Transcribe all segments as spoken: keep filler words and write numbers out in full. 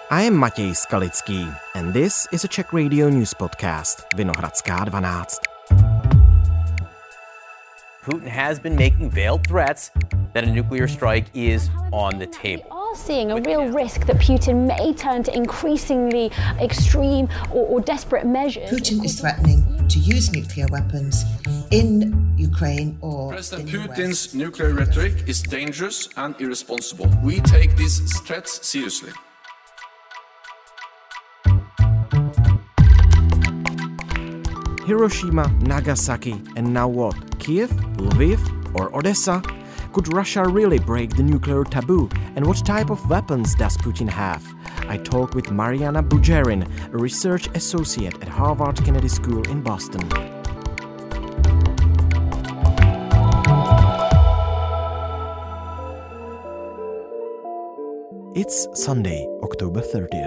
I am Matěj Skalický, and this is a Czech radio news podcast, Vinohradská dvanáct. Putin has been making veiled threats that a nuclear strike is on the table. We are seeing a real risk that Putin may turn to increasingly extreme or, or desperate measures. Putin is threatening to use nuclear weapons in Ukraine or President in the Putin's West. nuclear rhetoric is dangerous and irresponsible. We take these threats seriously. Hiroshima, Nagasaki, and now what? Kiev, Lviv, or Odessa? Could Russia really break the nuclear taboo? And what type of weapons does Putin have? I talk with Mariana Bujerin, a research associate at Harvard Kennedy School in Boston. It's Sunday, October thirtieth.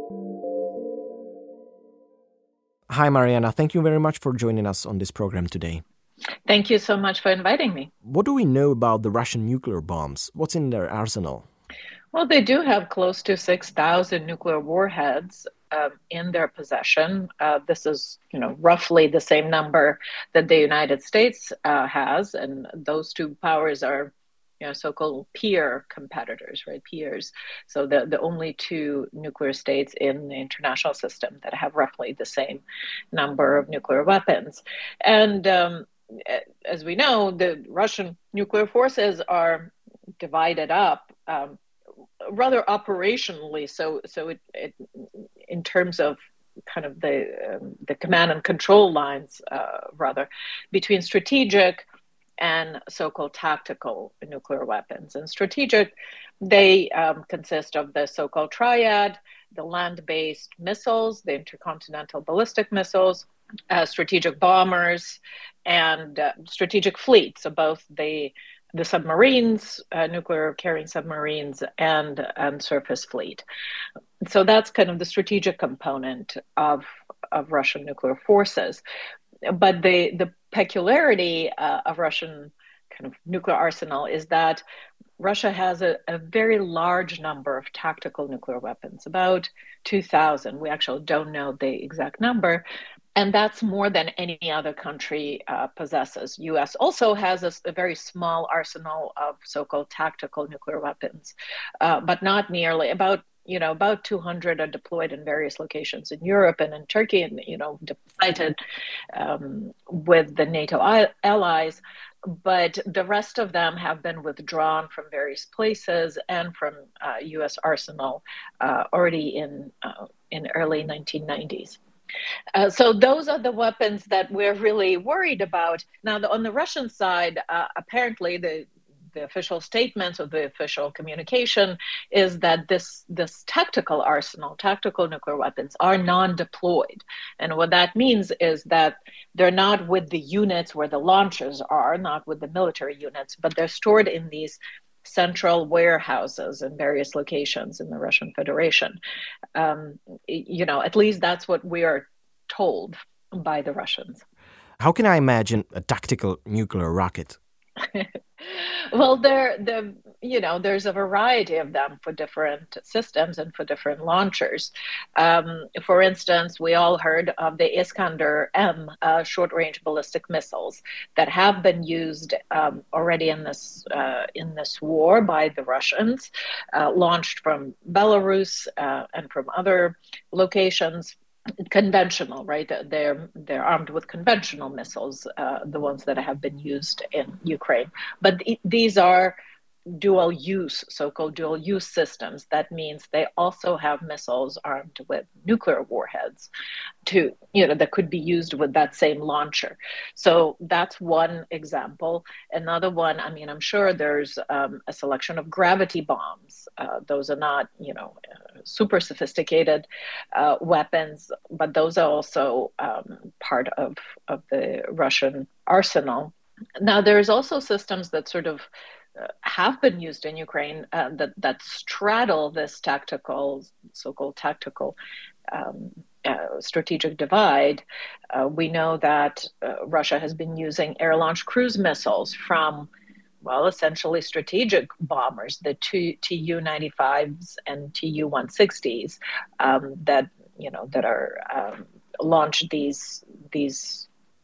Hi, Mariana. Thank you very much for joining us on this program today. Thank you so much for inviting me. What do we know about the Russian nuclear bombs? What's in their arsenal? Well, they do have close to six thousand nuclear warheads um, in their possession. Uh, this is, you know, roughly the same number that the United States uh, has, and those two powers are, you know, so-called peer competitors, right? Peers. So the, the only two nuclear states in the international system that have roughly the same number of nuclear weapons. And um, as we know, the Russian nuclear forces are divided up um, rather operationally. So, so it, it in terms of kind of the um, the command and control lines, uh, rather, between strategic and so-called tactical nuclear weapons. And strategic, they um, consist of the so-called triad, the land-based missiles, the intercontinental ballistic missiles, uh, strategic bombers, and uh, strategic fleets, so both the the submarines, uh, nuclear carrying submarines, and, and surface fleet. So that's kind of the strategic component of, of Russian nuclear forces. But the, the peculiarity uh, of Russian kind of nuclear arsenal is that Russia has a, a very large number of tactical nuclear weapons, about two thousand. We actually don't know the exact number. And that's more than any other country uh, possesses. U S also has a, a very small arsenal of so-called tactical nuclear weapons, uh, but not nearly. About you know, about two hundred are deployed in various locations in Europe and in Turkey, and you know, sited um, with the NATO I- allies. But the rest of them have been withdrawn from various places and from uh, U S arsenal uh, already in uh, in early nineteen nineties. Uh, so those are the weapons that we're really worried about. Now, the, on the Russian side, uh, apparently the the official statements or the official communication is that this this tactical arsenal, tactical nuclear weapons, are non-deployed. And what that means is that they're not with the units where the launchers are, not with the military units, but they're stored in these central warehouses in various locations in the Russian Federation. Um, you know, at least that's what we are told by the Russians. How can I imagine a tactical nuclear rocket? Well, there, the you know, there's a variety of them for different systems and for different launchers. Um, for instance, we all heard of the Iskander M uh, short-range ballistic missiles that have been used um, already in this uh, in this war by the Russians, uh, launched from Belarus uh, and from other locations. Conventional, right? They're they're armed with conventional missiles, uh, the ones that have been used in Ukraine. But th- these are dual use, so-called dual use systems. That means they also have missiles armed with nuclear warheads to, you know, that could be used with that same launcher. So that's one example. Another one, I mean, I'm sure there's um, a selection of gravity bombs. Uh, those are not, you know, uh, super sophisticated uh, weapons, but those are also um, part of, of the Russian arsenal. Now, there's also systems that sort of Uh, have been used in Ukraine uh, that, that straddle this tactical, so-called tactical um, uh, strategic divide. Uh, we know that uh, Russia has been using air-launched cruise missiles from well, essentially strategic bombers, the T U ninety-fives and T U one sixties um, that, you know, that are um, launched these these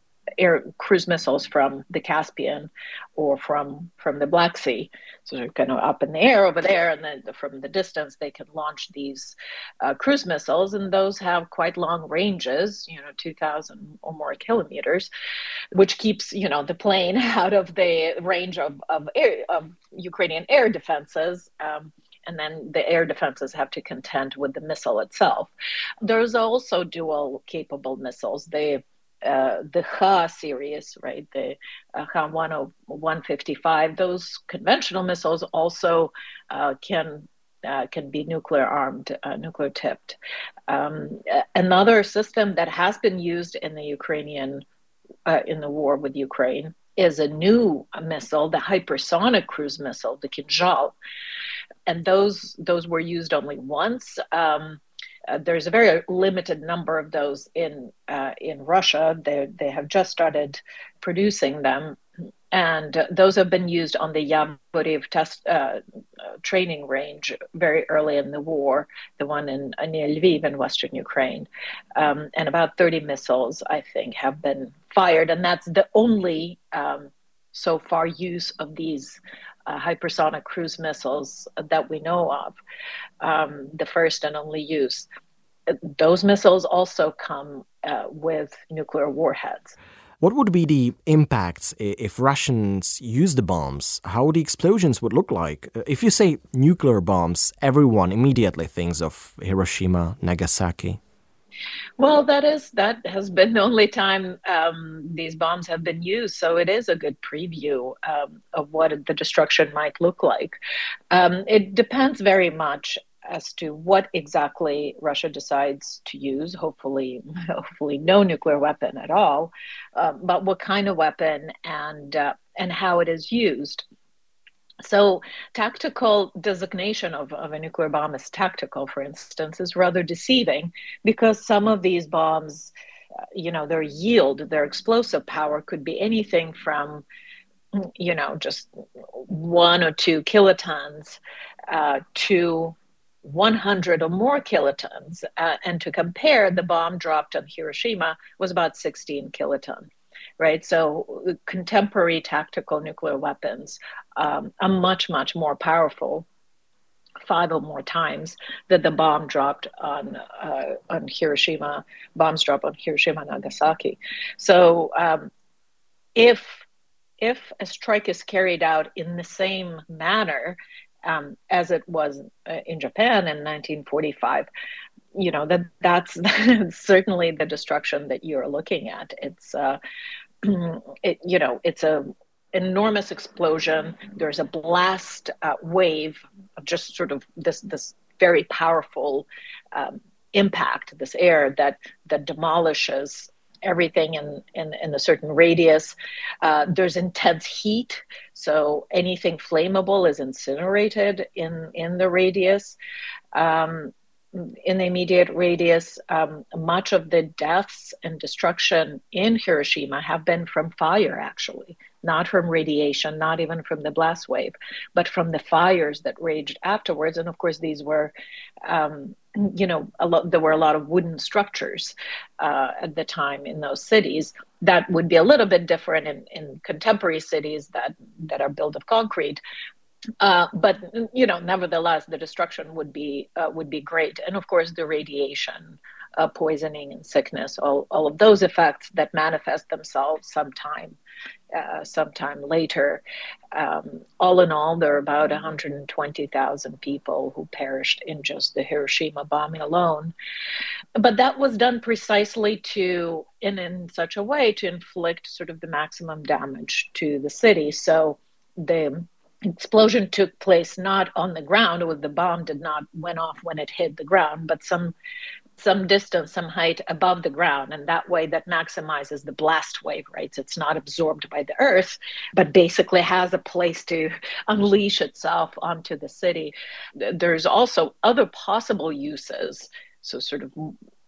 air cruise missiles from the Caspian or from from the Black Sea. So they're kind of up in the air over there, and then from the distance they can launch these uh, cruise missiles, and those have quite long ranges, you know, two thousand or more kilometers, which keeps, you know, the plane out of the range of of, air, of Ukrainian air defenses. Um, and then the air defenses have to contend with the missile itself. There's also dual capable missiles. They Uh, the H A series, right, the uh, H A one fifty-five, those conventional missiles also uh, can uh, can be nuclear armed, uh, nuclear tipped. Um, another system that has been used in the Ukrainian uh, in the war with Ukraine is a new missile, the hypersonic cruise missile, the Kinzhal, and those those were used only once. Um, Uh, there's a very limited number of those in uh, in Russia. They they have just started producing them, and uh, those have been used on the Yavoriv test uh, uh, training range very early in the war, the one in near Lviv in western Ukraine, um, and about thirty missiles, I think, have been fired, and that's the only um, so far use of these Uh, hypersonic cruise missiles that we know of, um, the first and only use. Those missiles also come uh, with nuclear warheads. What would be the impacts if Russians use the bombs? How the explosions would look like? If you say nuclear bombs, everyone immediately thinks of Hiroshima, Nagasaki. Well, that is that has been the only time um, these bombs have been used, so it is a good preview um, of what the destruction might look like. Um, it depends very much as to what exactly Russia decides to use. Hopefully, hopefully no nuclear weapon at all, uh, but what kind of weapon and uh, and how it is used. So tactical designation of, of a nuclear bomb as tactical, for instance, is rather deceiving, because some of these bombs, uh, you know, their yield, their explosive power could be anything from, you know, just one or two kilotons uh, to one hundred or more kilotons. Uh, and to compare, the bomb dropped on Hiroshima was about sixteen kilotons. Right, so contemporary tactical nuclear weapons um, are much, much more powerful, five or more times that the bomb dropped on uh, on Hiroshima. Bombs dropped on Hiroshima and Nagasaki. So, um, if if a strike is carried out in the same manner um, as it was uh, in Japan in nineteen forty-five. You know, that that's certainly the destruction that you're looking at. It's, uh, it, you know, it's a enormous explosion. There's a blast uh, wave of just sort of this this very powerful um, impact, this air that that demolishes everything in, in, in a certain radius. Uh, there's intense heat, so anything flammable is incinerated in, in the radius. Um, in the immediate radius, um, much of the deaths and destruction in Hiroshima have been from fire, actually, not from radiation, not even from the blast wave, but from the fires that raged afterwards. And of course, these were, um, you know, a lot, there were a lot of wooden structures uh, at the time in those cities. That would be a little bit different in, in contemporary cities that, that are built of concrete. Uh, but you know, nevertheless, the destruction would be uh, would be great, and of course, the radiation, uh, poisoning, and sickness, all all of those effects that manifest themselves sometime, uh, sometime later. Um, all in all, there are about one hundred twenty thousand people who perished in just the Hiroshima bombing alone. But that was done precisely to, in in such a way, to inflict sort of the maximum damage to the city. So the explosion took place not on the ground, or the bomb did not went off when it hit the ground, but some some distance, some height above the ground, and that way that maximizes the blast wave, right? So it's not absorbed by the earth, but basically has a place to unleash itself onto the city. There's also other possible uses, so sort of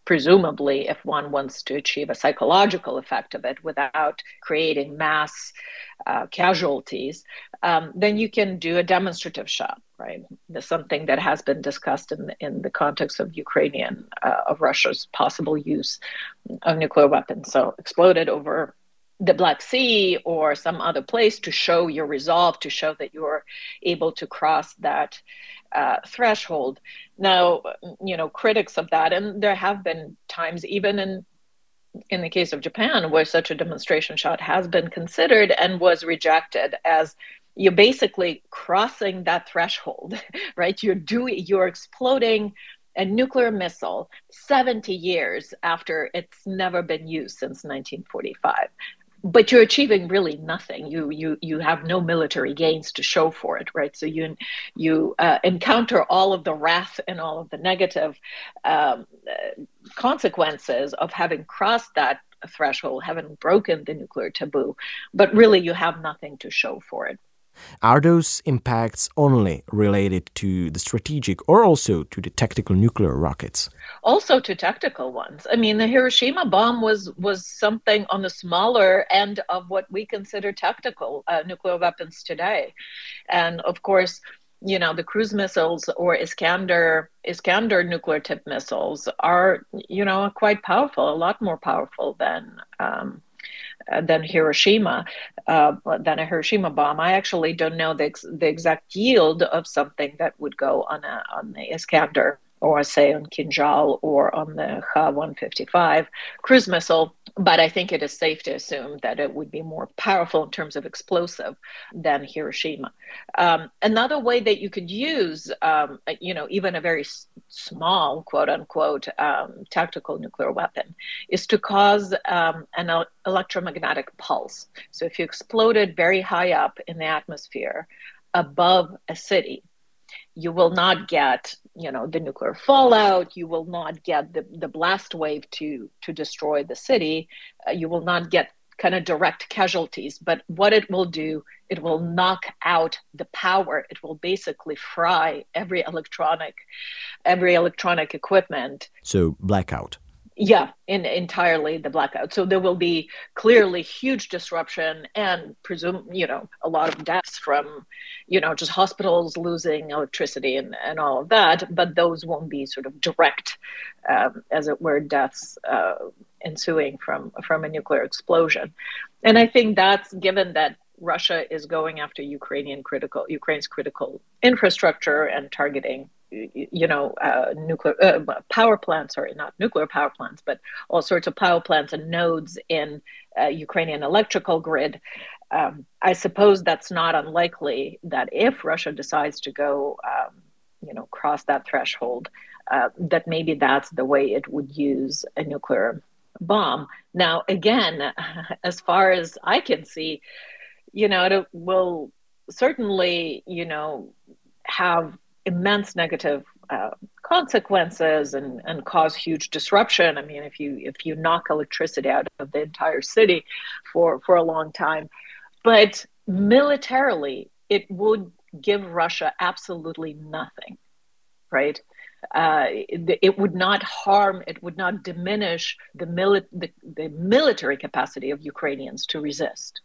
presumably, if one wants to achieve a psychological effect of it without creating mass uh, casualties, um, then you can do a demonstrative shot, right? There's something that has been discussed in the, in the context of Ukrainian, uh, of Russia's possible use of nuclear weapons. So exploded over the Black Sea or some other place to show your resolve, to show that you're able to cross that uh, threshold. Now, you know, critics of that, and there have been times even in in the case of Japan where such a demonstration shot has been considered and was rejected as you're basically crossing that threshold, right? You're doing, you're exploding a nuclear missile seventy years after it's never been used since nineteen forty-five. But you're achieving really nothing. You you you have no military gains to show for it, right? So you you uh, encounter all of the wrath and all of the negative um, uh, consequences of having crossed that threshold, having broken the nuclear taboo. But really, you have nothing to show for it. Are those impacts only related to the strategic or also to the tactical nuclear rockets? Also to tactical ones. I mean, the Hiroshima bomb was was something on the smaller end of what we consider tactical uh, nuclear weapons today. And of course, you know, the cruise missiles or Iskander, Iskander nuclear tip missiles are, you know, quite powerful, a lot more powerful than um, Uh, than Hiroshima, uh, than a Hiroshima bomb. I actually don't know the, ex- the exact yield of something that would go on a on the Iskander, or say on Kinjal, or on the Kha one fifty-five cruise missile. But I think it is safe to assume that it would be more powerful in terms of explosive than Hiroshima. Um, another way that you could use, um, you know, even a very s- small, quote unquote, um, tactical nuclear weapon is to cause um, an el- electromagnetic pulse. So if you exploded very high up in the atmosphere above a city, you will not get, you know, the nuclear fallout. You will not get the, the blast wave to to destroy the city. Uh, you will not get kind of direct casualties. But what it will do, it will knock out the power. It will basically fry every electronic, every electronic equipment. So blackout. Yeah, in, entirely the blackout. So there will be clearly huge disruption and presume, you know, a lot of deaths from, you know, just hospitals losing electricity and, and all of that. But those won't be sort of direct, um, as it were, deaths uh, ensuing from, from a nuclear explosion. And I think that's given that Russia is going after Ukrainian critical, Ukraine's critical infrastructure and targeting, you know, uh, nuclear uh, power plants, sorry, not nuclear power plants, but all sorts of power plants and nodes in uh, Ukrainian electrical grid. Um, I suppose that's not unlikely that if Russia decides to go, um, you know, cross that threshold, uh, that maybe that's the way it would use a nuclear bomb. Now, again, as far as I can see, you know, it will certainly, you know, have immense negative uh, consequences and, and cause huge disruption. I mean, if you if you knock electricity out of the entire city for, for a long time. But militarily, it would give Russia absolutely nothing, right? Uh, it, it would not harm, it would not diminish the, mili- the, the military capacity of Ukrainians to resist.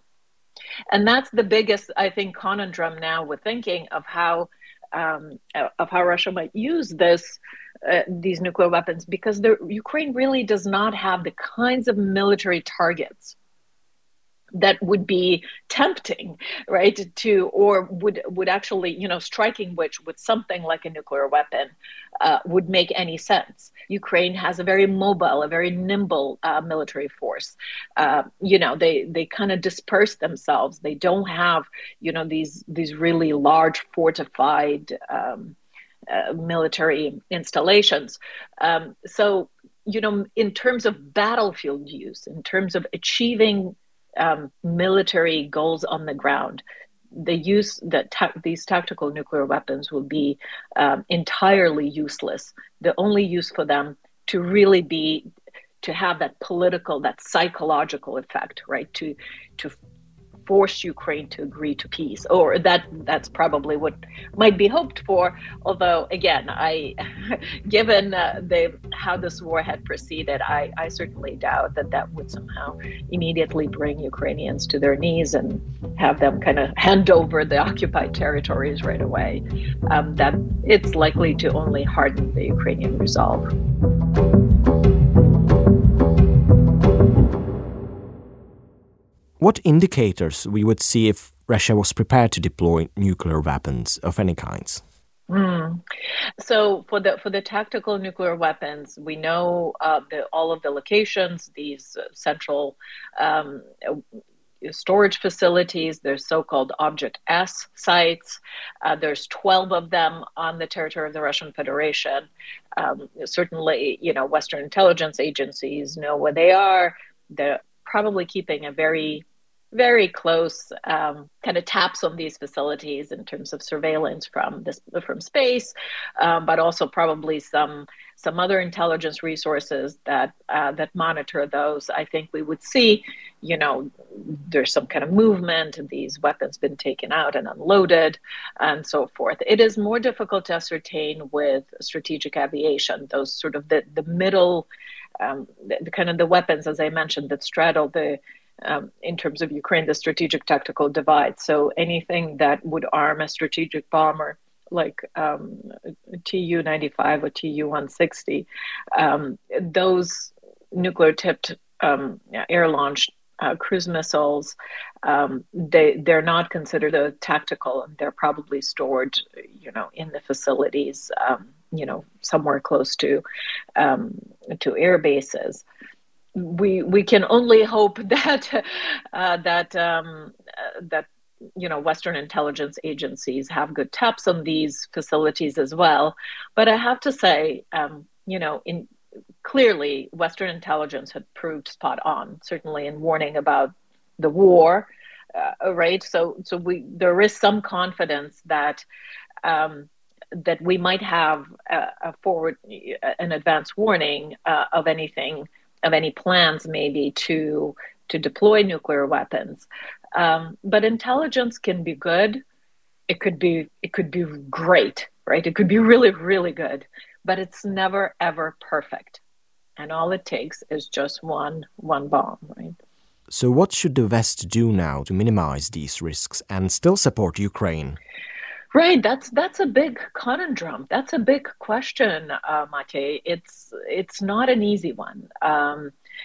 And that's the biggest, I think, conundrum now with thinking of how um, of how Russia might use this uh, these nuclear weapons, because the, Ukraine really does not have the kinds of military targets that would be tempting, right, to, or would would actually, you know, striking which with something like a nuclear weapon uh, would make any sense. Ukraine has a very mobile, a very nimble uh, military force. Uh, you know, they they kind of disperse themselves. They don't have, you know, these these really large fortified um, uh, military installations. Um, so, you know, in terms of battlefield use, in terms of achieving Um, military goals on the ground, the use that ta- these tactical nuclear weapons will be um, entirely useless. The only use for them to really be to have that political, that psychological effect, right? To to force Ukraine to agree to peace, or that that's probably what might be hoped for. Although, again, I, given uh, the how this war had proceeded, I, I certainly doubt that that would somehow immediately bring Ukrainians to their knees and have them kind of hand over the occupied territories right away. Um, that it's likely to only harden the Ukrainian resolve. What indicators we would see if Russia was prepared to deploy nuclear weapons of any kinds? Mm. So for the for the tactical nuclear weapons, we know uh, the, all of the locations, these uh, central um, storage facilities. There's so-called Object S sites. Uh, there's twelve of them on the territory of the Russian Federation. Um, certainly, you know, Western intelligence agencies know where they are. They're probably keeping a very very close um, kind of taps on these facilities in terms of surveillance from this from space, um, but also probably some some other intelligence resources that uh, that monitor those. I think we would see, you know, there's some kind of movement, these weapons been taken out and unloaded, and so forth. It is more difficult to ascertain with strategic aviation, those sort of the the middle, um, the, the kind of the weapons, as I mentioned, that straddle the Um, in terms of Ukraine, the strategic tactical divide. So anything that would arm a strategic bomber like um, T U ninety-five or T U one sixty, um, those nuclear-tipped um, air-launched uh, cruise missiles, um, they, they're not considered a tactical, and they're probably stored, you know, in the facilities, um, you know, somewhere close to um, to air bases. We we can only hope that uh, that um, uh, that you know Western intelligence agencies have good taps on these facilities as well. But I have to say, um, you know, in clearly Western intelligence had proved spot on, certainly in warning about the war, uh, right? So so we there is some confidence that. Um, that we might have a, a forward, an advance warning uh, of anything. of any plans maybe to to deploy nuclear weapons. Um, but intelligence can be good. It could be it could be great, right? It could be really, really good, but it's never, ever perfect. And all it takes is just one one bomb, right? So what should the West do now to minimize these risks and still support Ukraine? Right, that's that's a big conundrum. That's a big question, uh, Matej. It's it's not an easy one. Um,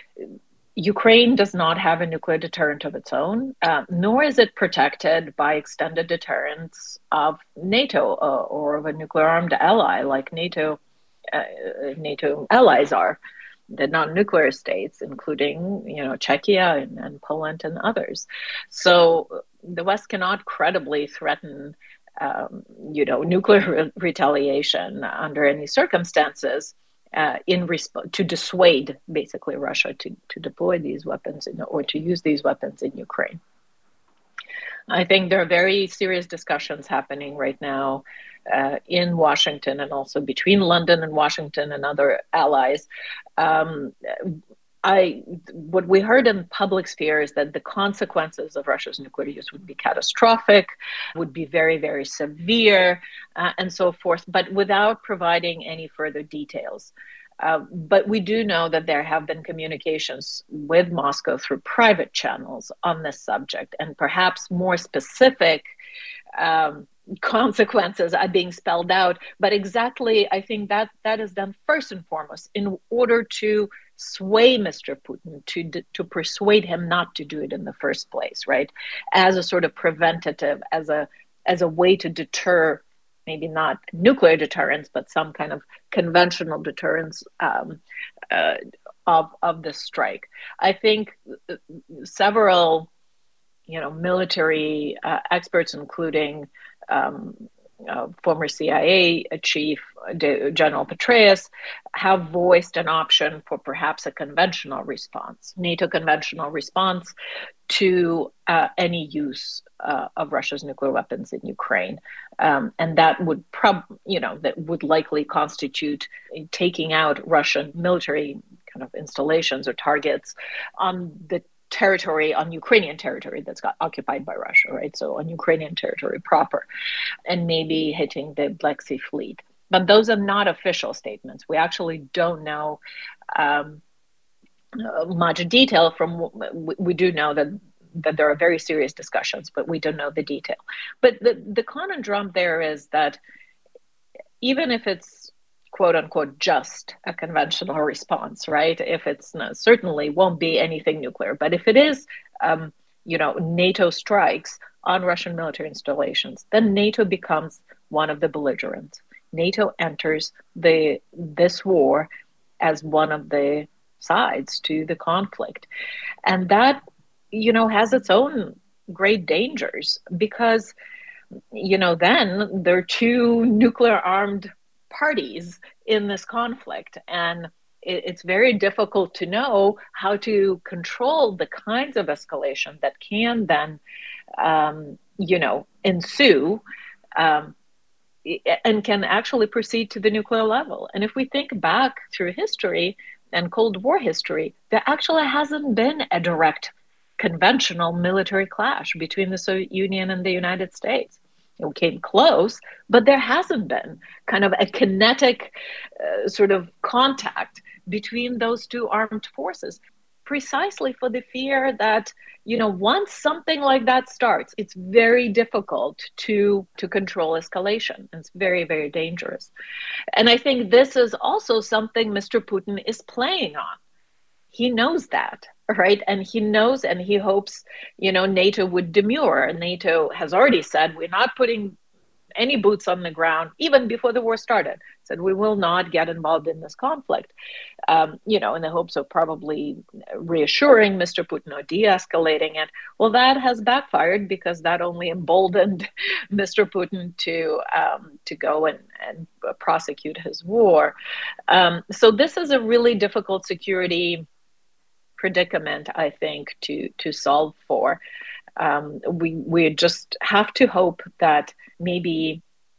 Ukraine does not have a nuclear deterrent of its own, uh, nor is it protected by extended deterrence of NATO uh, or of a nuclear-armed ally like NATO. Uh, NATO allies are, the non-nuclear states, including you know Czechia and, and Poland and others. So the West cannot credibly threaten. Um, you know, nuclear re- retaliation under any circumstances uh, in resp- to dissuade basically Russia to, to deploy these weapons in, or to use these weapons in Ukraine. I think there are very serious discussions happening right now uh, in Washington and also between London and Washington and other allies. Um, I, what we heard in public sphere is that the consequences of Russia's nuclear use would be catastrophic, would be very, very severe, uh, and so forth, but without providing any further details. Uh, but we do know that there have been communications with Moscow through private channels on this subject, and perhaps more specific um, consequences are being spelled out. But exactly, I think that that is done first and foremost in order to sway Mister Putin, to to persuade him not to do it in the first place, right? As a sort of preventative, as a as a way to deter, maybe not nuclear deterrence, but some kind of conventional deterrence um, uh, of of the strike. I think several, you know, military uh, experts, including um, uh, former C I A chief General Petraeus, have voiced an option for perhaps a conventional response, NATO conventional response to uh, any use uh, of Russia's nuclear weapons in Ukraine, um, and that would prob, you know, that would likely constitute taking out Russian military kind of installations or targets on the territory, on Ukrainian territory that's got occupied by Russia, right? So on Ukrainian territory proper, and maybe hitting the Black Sea Fleet. But those are not official statements. We actually don't know um, much detail from, we do know that that there are very serious discussions, but we don't know the detail. But the, the conundrum there is that even if it's quote unquote just a conventional response, right? If it's not, certainly won't be anything nuclear, but if it is, um, you know, NATO strikes on Russian military installations, then NATO becomes one of the belligerents. NATO enters the this war as one of the sides to the conflict. And that, you know, has its own great dangers because, you know, then there are two nuclear armed parties in this conflict. And it, it's very difficult to know how to control the kinds of escalation that can then, um, you know, ensue um, and can actually proceed to the nuclear level. And if we think back through history and Cold War history, there actually hasn't been a direct conventional military clash between the Soviet Union and the United States. It came close, but there hasn't been kind of a kinetic uh, sort of contact between those two armed forces, precisely for the fear that, you know, once something like that starts, it's very difficult to, to control escalation. It's very, very dangerous. And I think this is also something Mister Putin is playing on. He knows that, right? And he knows and he hopes, you know, NATO would demur. NATO has already said, we're not putting any boots on the ground, even before the war started, said we will not get involved in this conflict, um, you know, in the hopes of probably reassuring Mister Putin or de-escalating it. Well, that has backfired because that only emboldened Mister Putin to um, to go and, and prosecute his war. Um, so this is a really difficult security predicament, I think, to to solve for. Um, we we just have to hope that maybe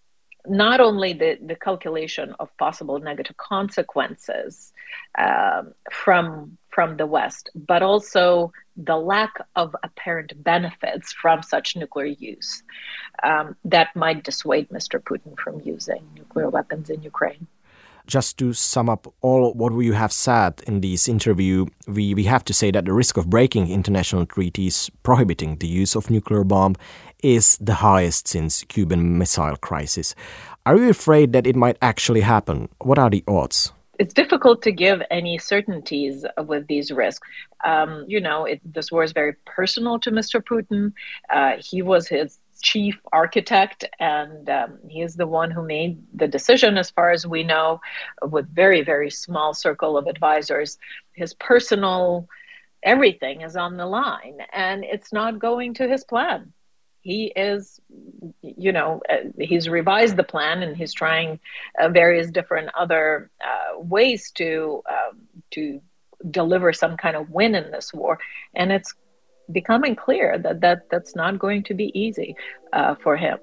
not only the, the calculation of possible negative consequences um, from from the West, but also the lack of apparent benefits from such nuclear use um, that might dissuade Mister Putin from using nuclear weapons in Ukraine. Just to sum up all what you have said in this interview, we, we have to say that the risk of breaking international treaties prohibiting the use of nuclear bomb is the highest since Cuban Missile Crisis. Are you afraid that it might actually happen? What are the odds? It's difficult to give any certainties with these risks. Um, you know, it, this war is very personal to Mister Putin. Uh, he was his chief architect, and um, he is the one who made the decision, as far as we know, with very, very small circle of advisors. His personal everything is on the line, and it's not going to his plan. He is, you know, uh, he's revised the plan, and he's trying uh, various different other uh, ways to um, to deliver some kind of win in this war, and it's becoming clear that, that that's not going to be easy uh, for him.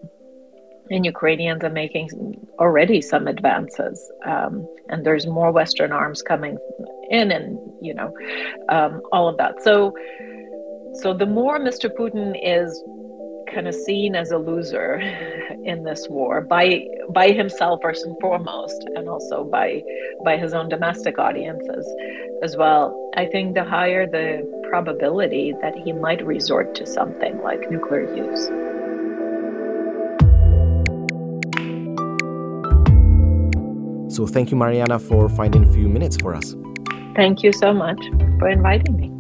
And Ukrainians are making already some advances, um, and there's more Western arms coming in, and you know, um, all of that. So, so the more Mister Putin is kind of seen as a loser in this war by by himself first and foremost, and also by by his own domestic audiences as well, I think the higher the probability that he might resort to something like nuclear use. So thank you, Mariana, for finding a few minutes for us. Thank you so much for inviting me.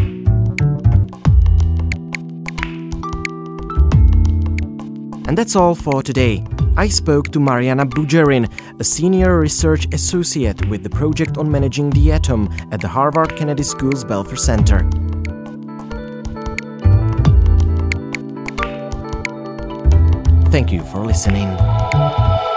And that's all for today. I spoke to Mariana Bujarin, a senior research associate with the Project on Managing the Atom at the Harvard Kennedy School's Belfer Center. Thank you for listening.